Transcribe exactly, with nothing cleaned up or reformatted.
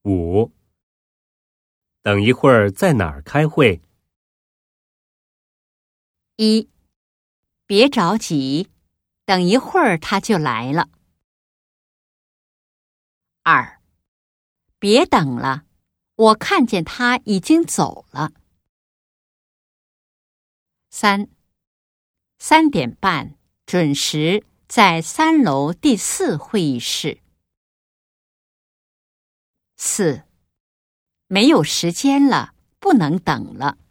五，等一会儿在哪儿开会？ 一，别着急，等一会儿他就来了。二，别等了，我看见他已经走了。三，三点半准时在三楼第四会议室。四，没有时间了，不能等了。